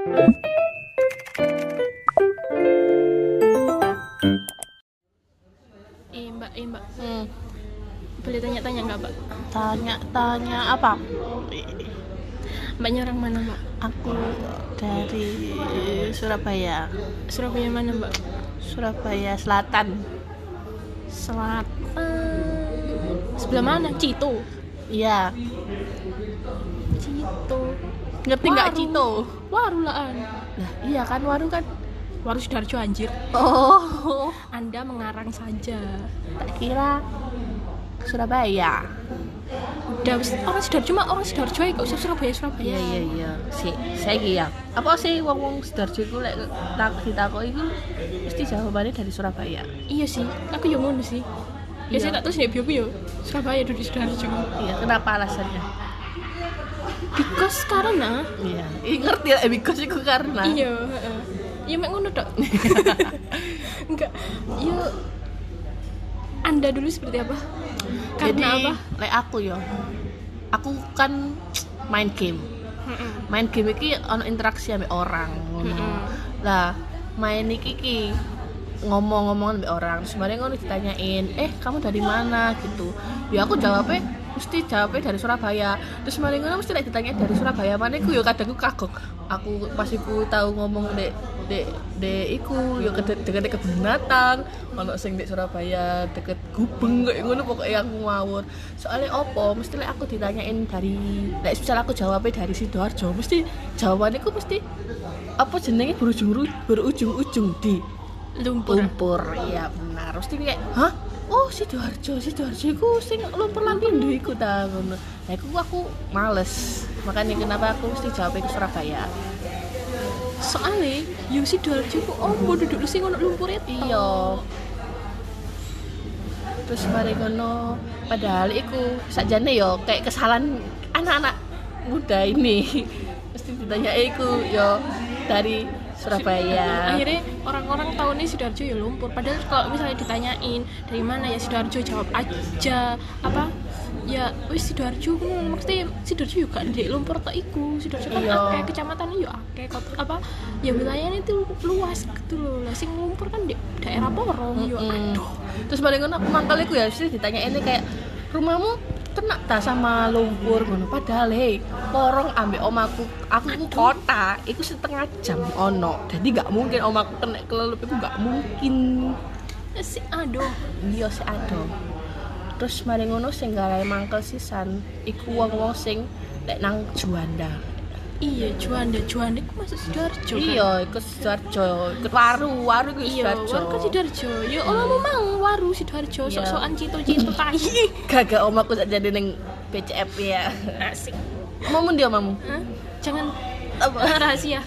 Mbak. Boleh tanya-tanya nggak, Mbak? Tanya apa? Mbaknya orang mana, Mbak? Aku dari Surabaya. Surabaya mana, Mbak? Surabaya Selatan. Sebelah mana? Cito. Iya. Cito. Ngerti nggak Cito? Warulaan. Nah, iya kan waru kan. Waru Sidoarjo anjir. Oh, Anda mengarang saja. tak kira Surabaya. Udah orang Sidoarjo mah orang Sidoarjo ae, gak usah Surabaya. Iya. Saiki ya. Apa sih wong Sidoarjo iku lek ditakoki iku mesti jawabannya dari Surabaya. Iya sih, aku yo ngono sih. Iya. Biasanya tak terus ya bio Surabaya duduk Sidoarjo. Iya, kenapa alasannya? Because karena Iya. Ngerti lah because iku karena. iya, heeh. Ya mek ngono tok. Enggak. Yo Anda dulu seperti apa? Jadi, Karena apa? lek aku kan main game. Main game iki ono interaksi ambek orang ngono. Lah, main iki ngomong-ngomong ambek orang, terus mari ngono ditanyain, "Kamu dari mana?" gitu. Ya aku jawabnya dari Surabaya. Terus mari ngono mesti lek ditanya dari Surabaya mana iku ya kadang aku kagok. Aku pas iku tahu ngomong dek iku ya deket kebun binatang, ono sing dek Surabaya deket Gubeng kayak ngono pokoknya aku ngawur. Soalnya opo mesti lek aku ditanyain dari lek misal aku jawabnya dari Sidoarjo, mesti jawabannya ku mesti apa jenenge berujung di lumpur. Iya benar. Mesti kayak, "Hah? Oh, Sidoarjo iku sing lumpur Lapindo iku ta ngono." Nah, aku males. Makanya kenapa aku mesti jawabnya ke Surabaya. Soalnya yo Sidoarjo ku ombo duduk sing ono lumpur itu. Iya. Terus mari ngono, padahal iku sakjane yo kayak kesalahan anak-anak muda ini. Mesti ditanya iku yo dari Surabaya. Akhirnya orang-orang tahu nih Sidoarjo ya lumpur. Padahal kalau misalnya ditanyain dari mana ya Sidoarjo, jawab aja apa ya wis Sidoarjo kan maksudnya Sidoarjo juga ndek lumpur tok iku. Sidoarjo kan akeh kecamatan yo akeh apa ya wilayahnya itu luas gitu loh. Lah sing lumpur kan di daerah Porong yo aduh. Terus paling ngono mangkal iku ya mesti ditanyain kayak rumahmu kena ta sama lumpur ngono. Padahal Porong ambek omaku, aku ku kota, iku setengah jam ono. Jadi gak mungkin omaku kena kelelep iku gak mungkin. Si aduh. Iya si aduh. Terus mari ngono sing gawe mangkel sisan iku wong-wong sing lek nang Juanda. Iya, Juanda iku masuk Sidoarjo kan? Iya, iku Sidoarjo. Ikut waru iku Sidoarjo. Iya, waru kan Sidoarjo. Ya omamu mau waru Sidoarjo, sok-sokan cito-cito tai. Gagak omaku sak jadi ning BCF ya. Asik. Omamu ndi omamu? Hah? Jangan Apa? rahasia.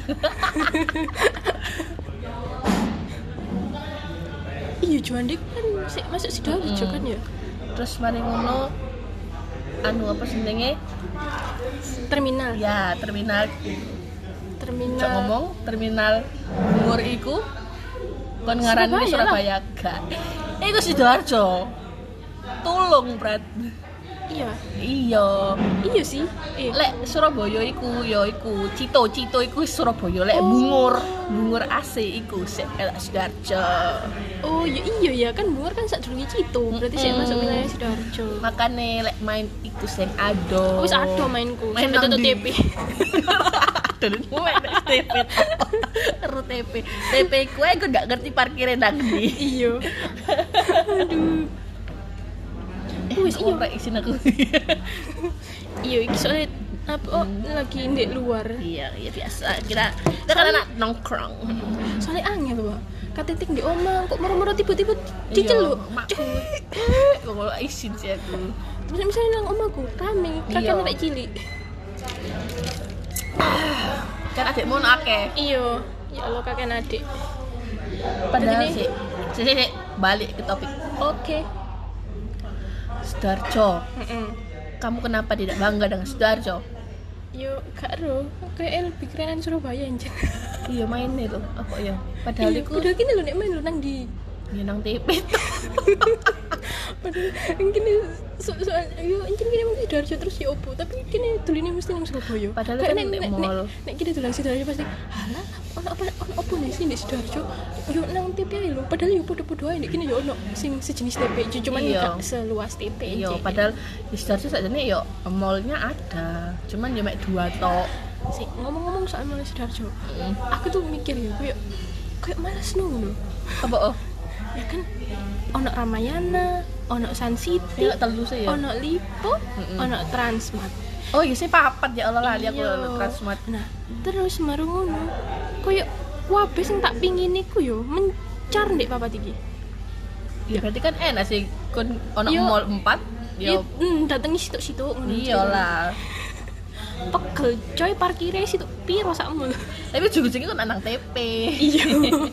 Iya, Juanda kan masuk Sidoarjo kan ya? Terus mari ngono apa jenenge? Terminal. Ya, terminal. Cok ngomong terminal Bungur iku kon ngarani Surabaya gak. Iku Sidoarjo. Tulung, Brat. Iya sih. Lek Surabaya iku ya iku Cito iku Surabaya. Lek Bungur AC iku Sidoarjo. Oh iya ya kan Bungur kan sadurunge Cito, berarti sik masuk wilayah Sidoarjo. Makane lek main iku sing ado. Wis ado mainku, Main sampe tutup nang TP. TP kue gue gak ngerti parkirnya nang ndi. Iya. Aduh. Wis iya rek isin aku. Iya iki soalnya apa lagi ndek luar. Iya biasa. Kita kan anak nongkrong. Soalnya angin tuh, Pak. Katitik ndek omah kok moro-moro tiba-tiba diceluk. Kok ngono isin sih aku. Terus misalnya nang omahku rame, kakek nek cilik. Kan adikmu akeh. Iya, ya Allah kakek adik. Padahal sih balik ke topik. Oke. Sidoarjo. Kamu kenapa tidak bangga dengan Sidoarjo? Yo gak ero, kayak lebih kerenan Surabaya anjir. Iya main itu apa ya? Padahal iku udah gini lho nek main lho nang di nang TP. Padahal gini soal yo encen kene mung Sidoarjo terus ya opo, tapi kene doline mesti nang Surabaya. Padahal kan nek mall. Nek kene dolan Sidoarjo pasti, "Halah, ono opo nih sih di Sidoarjo?" Yo nang TP ae lho, padahal yo padha-padha ae nek kene yo ono sing sejenis TP, cuman gak seluas TP. Iya, padahal di Sidoarjo sakjane yo mallnya ada, cuman yo mek 2 tok. Sih, ngomong-ngomong soal mall Sidoarjo, aku tuh mikir ya, kayak malas ngono. Apa Ya kan ono Ramayana, ono Sun City, ya telu sih ya. ono Lipo, ono Transmart. Oh iya sih papat ya Allah lali aku Transmart. Nah, terus maru ngono. Koyo kabeh sing tak pingin iku yo mencar ndek papat iki. Ya berarti kan enak sih kon ono mall 4 yo datengi situk-situk ngono. Iyalah. Pegel coy parkire situ piro sakmu. Tapi ujung-ujungnya kan nang TP. Iya.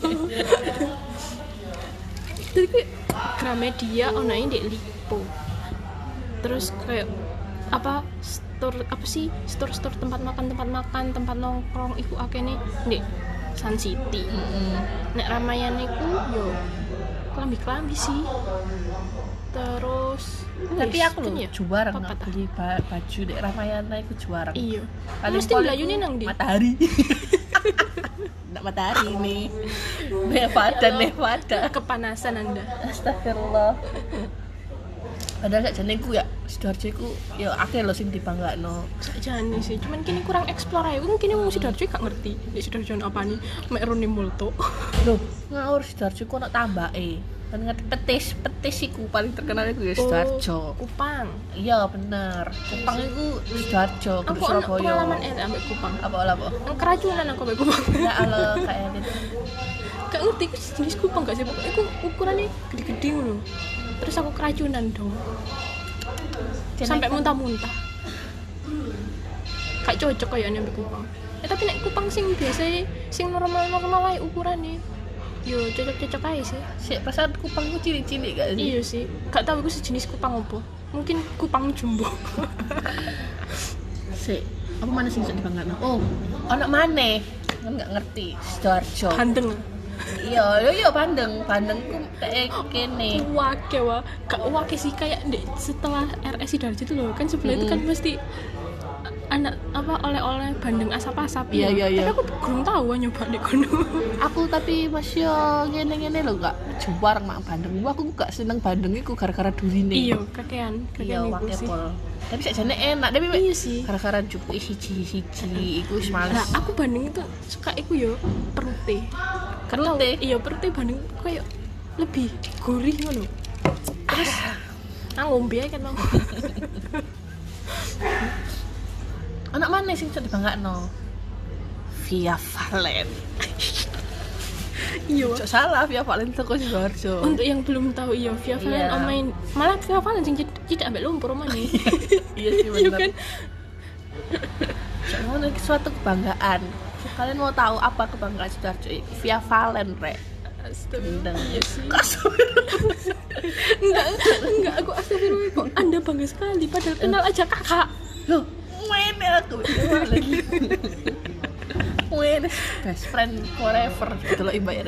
Jadi kayak Gramedia ono ae ndek Lipo. Terus kayak apa store tempat makan, tempat nongkrong iku akene ndek Sun City. Nek Ramayana iku yo klambi sih. Terus tapi aku lho juara nggak beli baju dek Ramayana iku juara. Iya. Mesti belayune nang ndi? Matahari. Ndak matahari nih. Nevada. Kepanasan Anda. Astagfirullah. Padahal sakjane ku ya Sidoarjo iku ya akeh lho sing dibanggakno. Sakjane sih, cuman kini kurang explore ae. Wong kini wong Sidoarjo gak ngerti. Nek Sidoarjo ono apane? Mek rone multo. Lho, ngawur Sidoarjo ku ono tambake. Kan ngerti petis iku paling terkenal iku ya Sidoarjo. Kupang. Iya bener. Kupang iku Sidoarjo, kudu Surabaya. Aku pengalaman ambek Kupang. Apa? Keracunan aku ambek Kupang. Ya Allah kayak gitu. Gak ngerti iku jenis kupang gak sih? Pokoknya iku ukurannya gede-gede ngono. Terus aku keracunan dong. Sampai muntah-muntah. Gak cocok kayaknya ambek kupang. Tapi nek kupang sing biasa sing normal-normal ae ukurane. Yo cocok-cocok aja sih. Sik perasaan kupang ku cilik-cilik gak sih? Iya sih. Gak tahu iku sejenis kupang apa. Mungkin kupang jumbo. Sik, apa mana sing iso dibanggakno? Oh, ono maneh. Kan gak ngerti Sidoarjo. Bandeng. Iya Bandeng ku kayak kene. Wake gak sih kayak setelah RS Sidoarjo itu loh. Kan sebelah itu kan pasti anak apa oleh-oleh bandeng asap-asap. Iya. Tapi aku belum tahu nyoba di kono. Aku tapi masih ngene-ngene lho gak juar mak bandeng. Aku gak seneng bandeng iku gara-gara durine. Iya, kakean iku sih. Tapi sakjane enak, tapi iya sih. Gara-gara cukup siji iku wis males. Nah, aku bandeng itu suka iku yo perute. Karena iya perute bandeng kayak lebih gurih ngono. Terus ngombe kan mau. Anak mana sing iso dibanggakno? Via Valen. Iya. Cok salah Via Valen teko Sidoarjo. Untuk yang belum tahu iya Via Valen omain malah Via Valen sing tidak ambek lumpur omane. Iya sih bener. Iya kan? Cok ngono iki suatu kebanggaan. Kalian mau tahu apa kebanggaan Sidoarjo iki? Via Valen rek. Astagfirullah. Iya sih. Enggak aku astagfirullah kok Anda bangga sekali padahal kenal aja kakak. Loh, ngene aku lagi. Ngene best friend forever gitu loh Iba ya.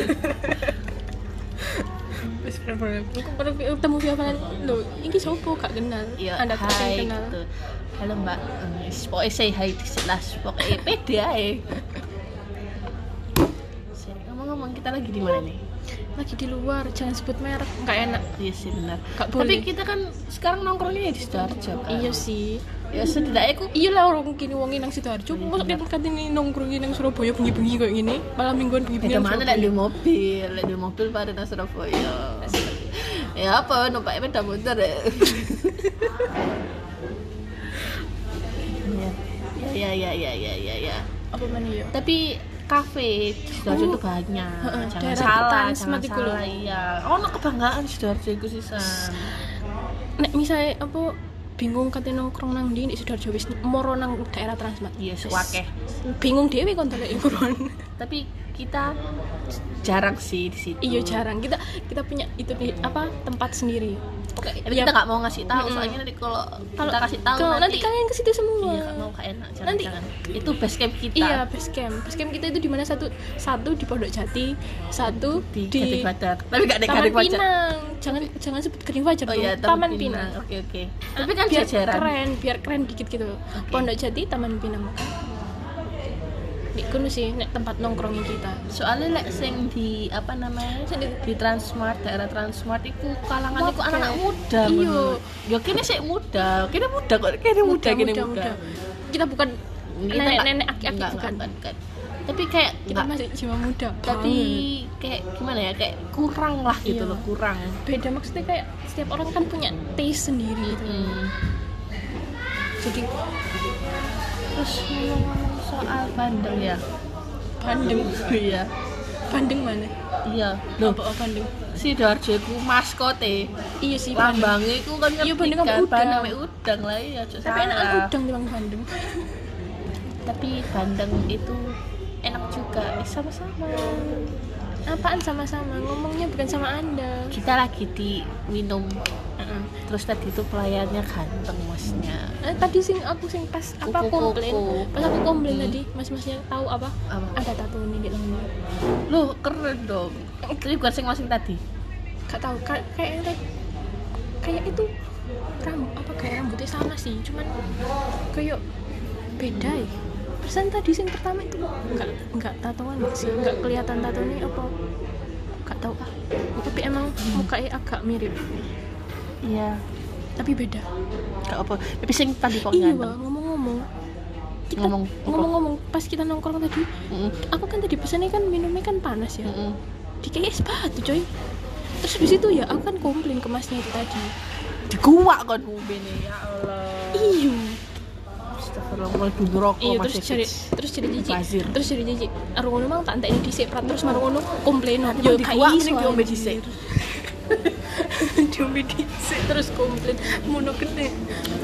Best friend forever. Aku baru ketemu Via Valen. Loh, ini sopo gak kenal. Anda tak kenal. Gitu. Halo Mbak, pokoknya say hi di selas, pokoknya pede aja. Ngomong-ngomong kita lagi di mana nih? Lagi di luar, jangan sebut merek, nggak enak. Iya sih benar. Tapi kita kan sekarang nongkrongnya di Sidoarjo kan. Iya sih. Ya setidaknya aku. Iya lah orang kini wongi nang Sidoarjo. Masa kan ini nongkrongnya nang Surabaya bengi-bengi kayak gini, malam mingguan bengi-bengi. Ada mana di mobil pada nang Surabaya. Ya apa numpak sepeda motor ya. Ya. Apa mana ya? Tapi kafe di Sidoarjo itu banyak. Jangan salah. Iya. Ono kebanggaan Sidoarjo iku sisan. Nek misalnya apa bingung katanya nongkrong nang di Sidoarjo wis moro nang daerah Transmart. Iya, suwakeh. Bingung dhewe kon telek ukuran. Tapi kita jarang sih di situ. Iya jarang. Kita punya itu apa tempat sendiri. Tapi kita nggak mau ngasih tahu soalnya nanti kalau kita kasih tahu nanti kalian ke situ semua. Iya, nggak mau, kayak enak. Jangan. Itu base camp kita. Iya, base camp kita itu di mana? Satu di Pondok Jati, satu di Gading Fajar. Tapi nggak ada Taman Gading Fajar. Pinang. Jangan sebut Gading Fajar Oh iya, Taman Pinang. Oke. Tapi kan biar keren dikit gitu. Pondok Jati, Taman Pinang. Di kono sih nek tempat nongkrongnya kita. Soalnya lek sing di apa namanya? Di Transmart, daerah Transmart iku kalangan iku anak-anak muda. Iya. Ya kene sik muda. Kene muda kok. Kene muda. Kita bukan nenek aki-aki bukan. Tapi kayak kita masih jiwa muda. Tapi kayak gimana ya? Kayak kurang lah gitu loh, kurang. Beda maksudnya kayak setiap orang kan punya taste sendiri gitu. Jadi terus ngomong soal Bandeng ya. Bandeng. Iya. Bandeng mana? Iya. Loh, apa Bandeng? Sidoarjo iku maskote. Iya sih. Lambangnya iku kan Bandeng udang lah ya. Tapi enakan udang timbang Bandeng. Tapi Bandeng itu enak juga. Sama-sama. Apaan sama-sama? Ngomongnya bukan sama Anda. Kita lagi di minum. Terus tadi itu pelayannya ganteng masnya. Tadi aku pas aku komplain tadi mas-masnya tahu apa? Ada tato nih di lengan. Loh keren dong. Tapi bukan sing masing tadi. Gak tahu kayak itu kayak rambutnya sama sih, cuman kayak beda ya. Persen tadi sing pertama itu enggak tatoan sih, enggak kelihatan tatonya apa. Gak tahu tapi emang mukanya agak mirip. Iya, tapi beda. Gak apa. Tapi sing tadi kok iya, ngomong-ngomong pas kita nongkrong tadi, aku kan tadi pesannya kan minumnya kan panas ya. Dikasih es batu coy. Terus habis itu ya aku kan komplain ke masnya itu tadi. Dikuak kan ngombe-ne ya Allah. Iya. Astagfirullah, dulu rokok iya, masih terus jadi jijik. Arung ngono mang tak entekne dhisik terus marung ngono komplain. Yo dikuak ning diombe dhisik. Diombe dhisik terus komplain mono gede.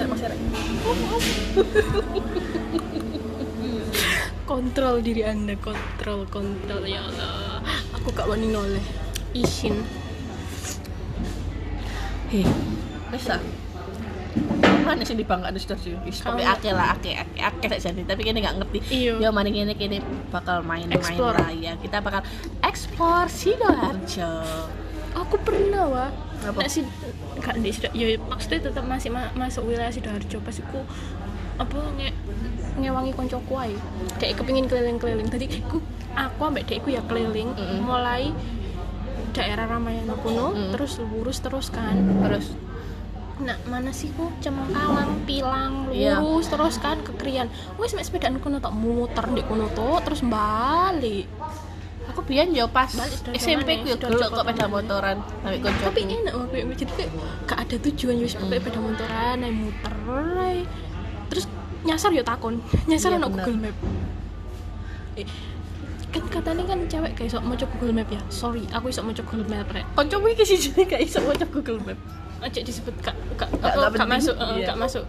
Kontrol diri Anda, kontrol ya Allah. Aku gak wani noleh. Isin. Bisa. Mana sih dibanggakan sudah sih? Sampai akeh saja nih. Tapi kini nggak ngerti. Yo mari kini bakal main-main lah ya. Kita bakal explore Sidoarjo. Aku pernah nggak sih nggak di Sidoarjo. Ya maksudnya tetap masih masuk wilayah Sidoarjo. Pas aku ngewangi koncoku ae. Kayak kepengin keliling-keliling. Tadi aku ambek dekku ya keliling mulai daerah Ramayana kuno terus lurus terus kan. Nah, mana sih ku Cemengkalang, Pilang, lurus terus kan ke Krian. Wes mek sepedaan kono tok muter ndek kono tok terus balik. Aku biyen yo pas SMP ku yo gelok kok sepeda motoran sampe konco. Tapi enak wae jadi gak ada tujuan wis pakai sepeda motoran ae muter ae. Terus nyasar yo takon. Nyasar ono Google Map. Kan katanya kan cewek gak iso maca Google Map ya. Sorry, aku iso maca Google Map rek. Koncomu iki siji gak iso maca Google Map. Aja disebut gak masuk, gak masuk.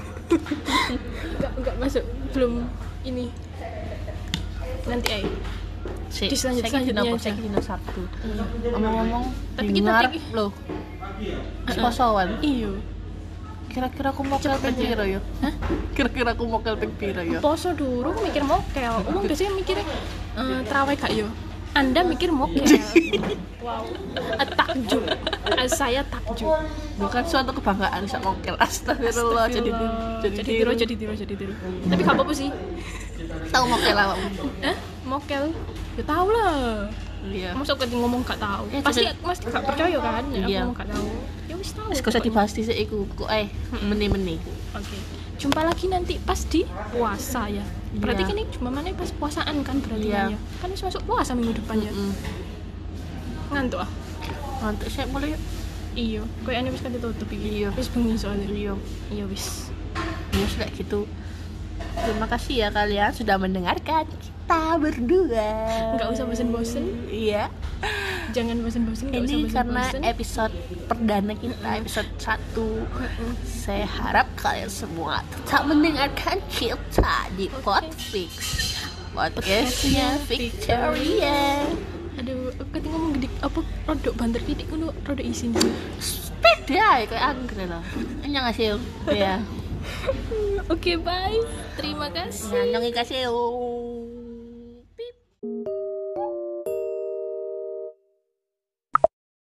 Gak masuk, belum ini. Nanti di selanjutnya dino Sabtu. Ngomong-ngomong, tapi kita ngarep loh. Posoan. Iya. Kira-kira aku mokel ping piro yo? Hah? Kira-kira aku mokel ping piro yo? Poso durung mikir mokel. Umum biasanya mikirnya terawih gak yo? Anda mikir mokel. Wow. Takjub. Saya takjub. Bukan suatu kebanggaan bisa mokel. Astagfirullah. Jadi tiru. Tapi gak apa-apa sih. Tahu mokel apa? Mokel. Ya tahu lah. Iya. Masa aku ngomong gak tahu. Pasti gak percaya kan? Iya. Aku gak tahu. Ya wis tahu. Wis gak usah dibahas dhisik iku. Kok meni-meni. Oke. Jumpa lagi nanti pas di puasa ya. Berarti kan ini cuma mana pas puasaan kan berarti ya. Kan wis masuk puasa minggu depan ya. Ngantuk ah. Ngantuk sih mulai. Iya, koyo wis kan ditutup iki. Wis bengi soalnya. Iya wis. Ya kayak gitu. Terima kasih ya kalian sudah mendengarkan kita berdua. Enggak usah bosen-bosen. Iya. Jangan bosen-bosen, enggak usah bosen-bosen. Ini karena episode perdana kita, episode 1. Saya harap kalian semua tetap mendengarkan kita di Podfix. Podcastnya Victoria. Aduh, ketika ngomong gede apa rodok banter titik ngono rodok isin. Pede ae kayak anggrek lah. Annyeonghaseyo. Ya. Oke, bye. Terima kasih. Annyeonghaseyo.